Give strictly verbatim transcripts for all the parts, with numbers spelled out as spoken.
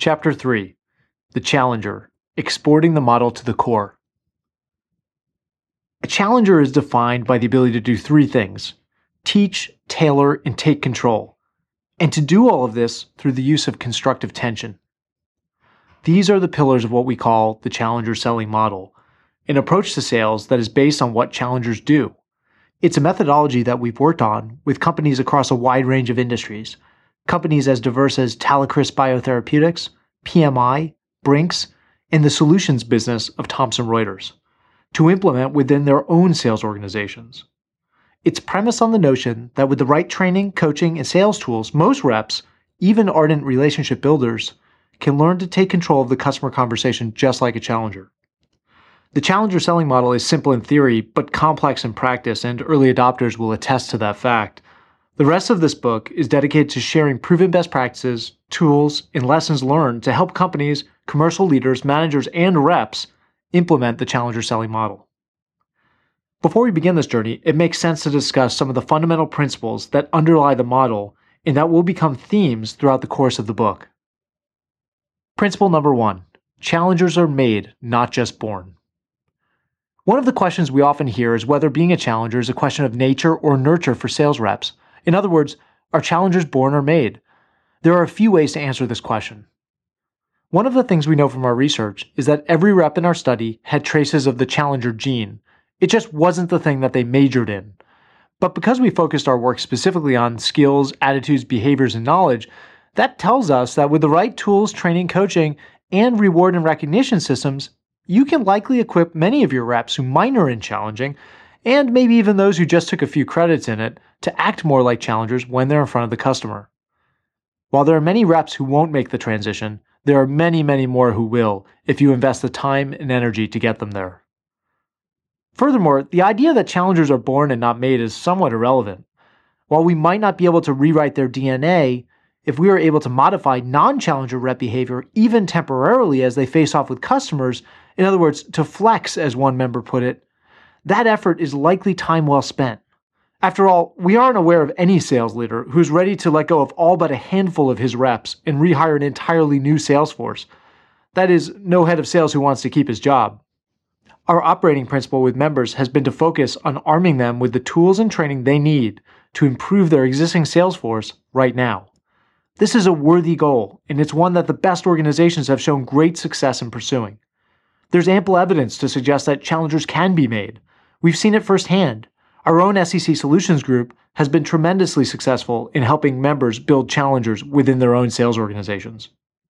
Chapter three. The Challenger, Exporting the Model to the Core. A challenger is defined by the ability to do three things: teach, tailor, and take control, and to do all of this through the use of constructive tension. These are the pillars of what we call the challenger selling model, an approach to sales that is based on what challengers do. It's a methodology that we've worked on with companies across a wide range of industries, companies as diverse as Talecris Biotherapeutics, P M I, Brinks, and the solutions business of Thomson Reuters, to implement within their own sales organizations. It's premised on the notion that with the right training, coaching, and sales tools, most reps, even ardent relationship builders, can learn to take control of the customer conversation just like a challenger. The challenger selling model is simple in theory, but complex in practice, and early adopters will attest to that fact. The rest of this book is dedicated to sharing proven best practices, tools, and lessons learned to help companies, commercial leaders, managers, and reps implement the challenger selling model. Before we begin this journey, it makes sense to discuss some of the fundamental principles that underlie the model and that will become themes throughout the course of the book. Principle number one: challengers are made, not just born. One of the questions we often hear is whether being a challenger is a question of nature or nurture for sales reps. In other words, are challengers born or made? There are a few ways to answer this question. One of the things we know from our research is that every rep in our study had traces of the challenger gene. It just wasn't the thing that they majored in. But because we focused our work specifically on skills, attitudes, behaviors, and knowledge, that tells us that with the right tools, training, coaching, and reward and recognition systems, you can likely equip many of your reps who minor in challenging, and maybe even those who just took a few credits in it, to act more like challengers when they're in front of the customer. While there are many reps who won't make the transition, there are many, many more who will if you invest the time and energy to get them there. Furthermore, the idea that challengers are born and not made is somewhat irrelevant. While we might not be able to rewrite their D N A, if we are able to modify non-challenger rep behavior even temporarily as they face off with customers, in other words, to flex, as one member put it, that effort is likely time well spent. After all, we aren't aware of any sales leader who's ready to let go of all but a handful of his reps and rehire an entirely new sales force. That is, no head of sales who wants to keep his job. Our operating principle with members has been to focus on arming them with the tools and training they need to improve their existing sales force right now. This is a worthy goal, and it's one that the best organizations have shown great success in pursuing. There's ample evidence to suggest that challengers can be made. We've seen it firsthand. Our own S E C Solutions Group has been tremendously successful in helping members build challengers within their own sales organizations.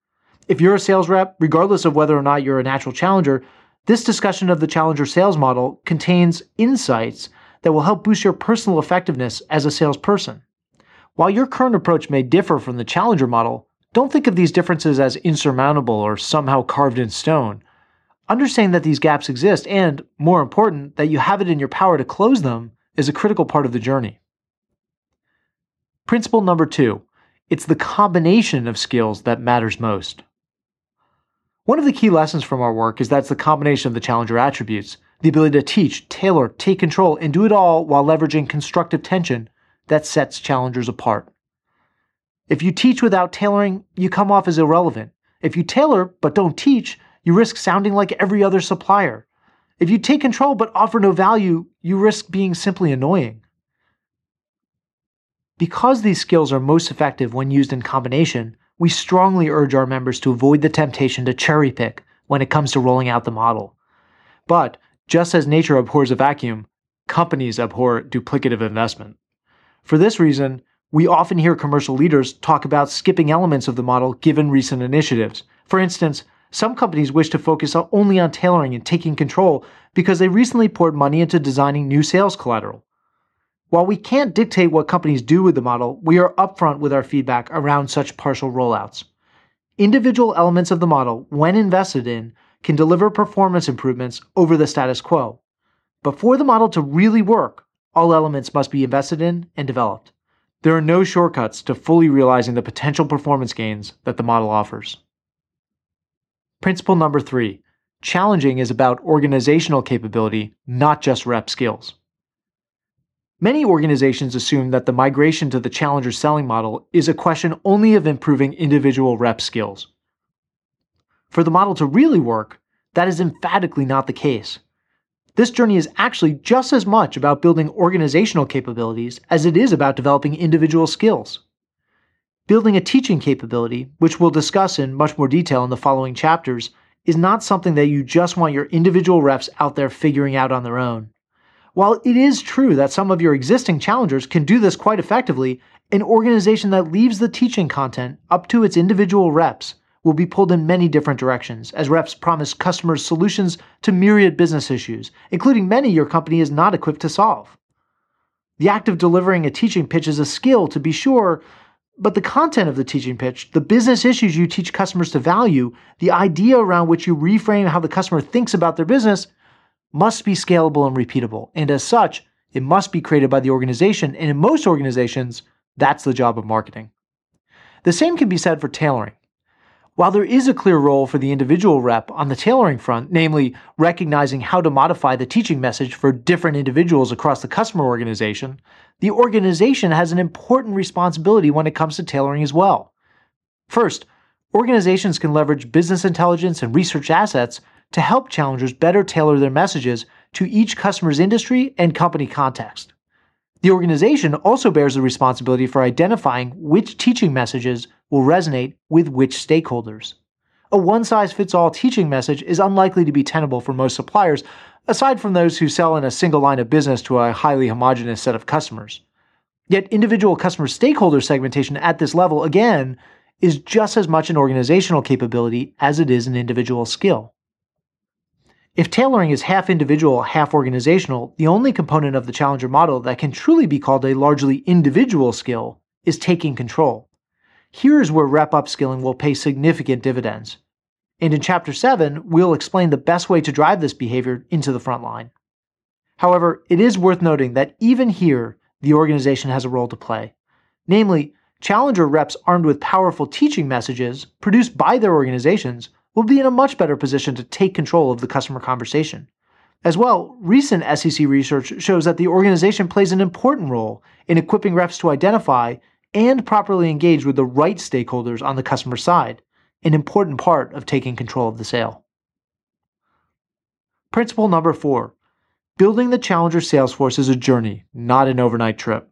If you're a sales rep, regardless of whether or not you're a natural challenger, this discussion of the challenger sales model contains insights that will help boost your personal effectiveness as a salesperson. While your current approach may differ from the challenger model, don't think of these differences as insurmountable or somehow carved in stone. Understanding that these gaps exist and, more important, that you have it in your power to close them is a critical part of the journey. Principle number two: it's the combination of skills that matters most. One of the key lessons from our work is that it's the combination of the challenger attributes, the ability to teach, tailor, take control, and do it all while leveraging constructive tension, that sets challengers apart. If you teach without tailoring, you come off as irrelevant. If you tailor but don't teach, you risk sounding like every other supplier. If you take control but offer no value, you risk being simply annoying. Because these skills are most effective when used in combination, we strongly urge our members to avoid the temptation to cherry pick when it comes to rolling out the model. But, just as nature abhors a vacuum, companies abhor duplicative investment. For this reason, we often hear commercial leaders talk about skipping elements of the model given recent initiatives. For instance, some companies wish to focus only on tailoring and taking control because they recently poured money into designing new sales collateral. While we can't dictate what companies do with the model, we are upfront with our feedback around such partial rollouts. Individual elements of the model, when invested in, can deliver performance improvements over the status quo. But for the model to really work, all elements must be invested in and developed. There are no shortcuts to fully realizing the potential performance gains that the model offers. Principle number three: challenging is about organizational capability, not just rep skills. Many organizations assume that the migration to the challenger selling model is a question only of improving individual rep skills. For the model to really work, that is emphatically not the case. This journey is actually just as much about building organizational capabilities as it is about developing individual skills. Building a teaching capability, which we'll discuss in much more detail in the following chapters, is not something that you just want your individual reps out there figuring out on their own. While it is true that some of your existing challengers can do this quite effectively, an organization that leaves the teaching content up to its individual reps will be pulled in many different directions, as reps promise customers solutions to myriad business issues, including many your company is not equipped to solve. The act of delivering a teaching pitch is a skill, to be sure, but the content of the teaching pitch, the business issues you teach customers to value, the idea around which you reframe how the customer thinks about their business, must be scalable and repeatable, and as such, it must be created by the organization, and in most organizations, that's the job of marketing. The same can be said for tailoring. While there is a clear role for the individual rep on the tailoring front, namely recognizing how to modify the teaching message for different individuals across the customer organization, the organization has an important responsibility when it comes to tailoring as well. First, organizations can leverage business intelligence and research assets to help challengers better tailor their messages to each customer's industry and company context. The organization also bears the responsibility for identifying which teaching messages will resonate with which stakeholders. A one-size-fits-all teaching message is unlikely to be tenable for most suppliers, aside from those who sell in a single line of business to a highly homogeneous set of customers. Yet individual customer stakeholder segmentation at this level, again, is just as much an organizational capability as it is an individual skill. If tailoring is half individual, half organizational, the only component of the challenger model that can truly be called a largely individual skill is taking control. Here is where rep upskilling will pay significant dividends. And in Chapter seven, we'll explain the best way to drive this behavior into the front line. However, it is worth noting that even here, the organization has a role to play. Namely, challenger reps armed with powerful teaching messages produced by their organizations will be in a much better position to take control of the customer conversation. As well, recent S E C research shows that the organization plays an important role in equipping reps to identify and properly engage with the right stakeholders on the customer side, an important part of taking control of the sale. Principle number four, building the challenger sales force is a journey, not an overnight trip.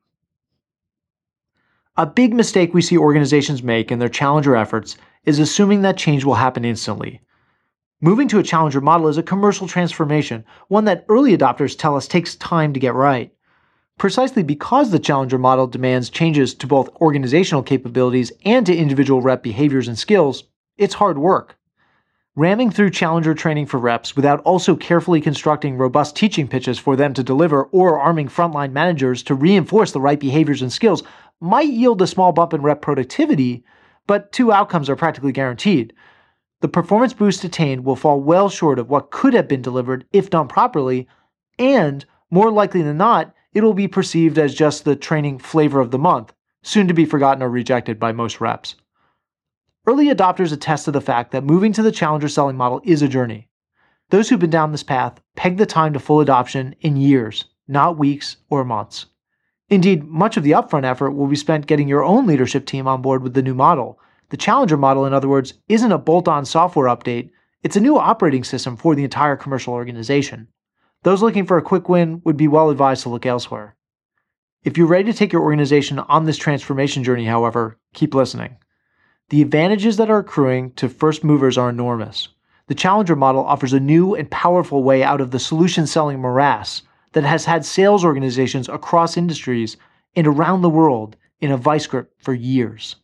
A big mistake we see organizations make in their challenger efforts is assuming that change will happen instantly. Moving to a challenger model is a commercial transformation, one that early adopters tell us takes time to get right. Precisely because the challenger model demands changes to both organizational capabilities and to individual rep behaviors and skills, it's hard work. Ramming through challenger training for reps without also carefully constructing robust teaching pitches for them to deliver or arming frontline managers to reinforce the right behaviors and skills might yield a small bump in rep productivity, but two outcomes are practically guaranteed. The performance boost attained will fall well short of what could have been delivered if done properly, and, more likely than not, it will be perceived as just the training flavor of the month, soon to be forgotten or rejected by most reps. Early adopters attest to the fact that moving to the challenger selling model is a journey. Those who've been down this path peg the time to full adoption in years, not weeks or months. Indeed, much of the upfront effort will be spent getting your own leadership team on board with the new model. The challenger model, in other words, isn't a bolt-on software update, it's a new operating system for the entire commercial organization. Those looking for a quick win would be well advised to look elsewhere. If you're ready to take your organization on this transformation journey, however, keep listening. The advantages that are accruing to first movers are enormous. The challenger model offers a new and powerful way out of the solution-selling morass that has had sales organizations across industries and around the world in a vice grip for years.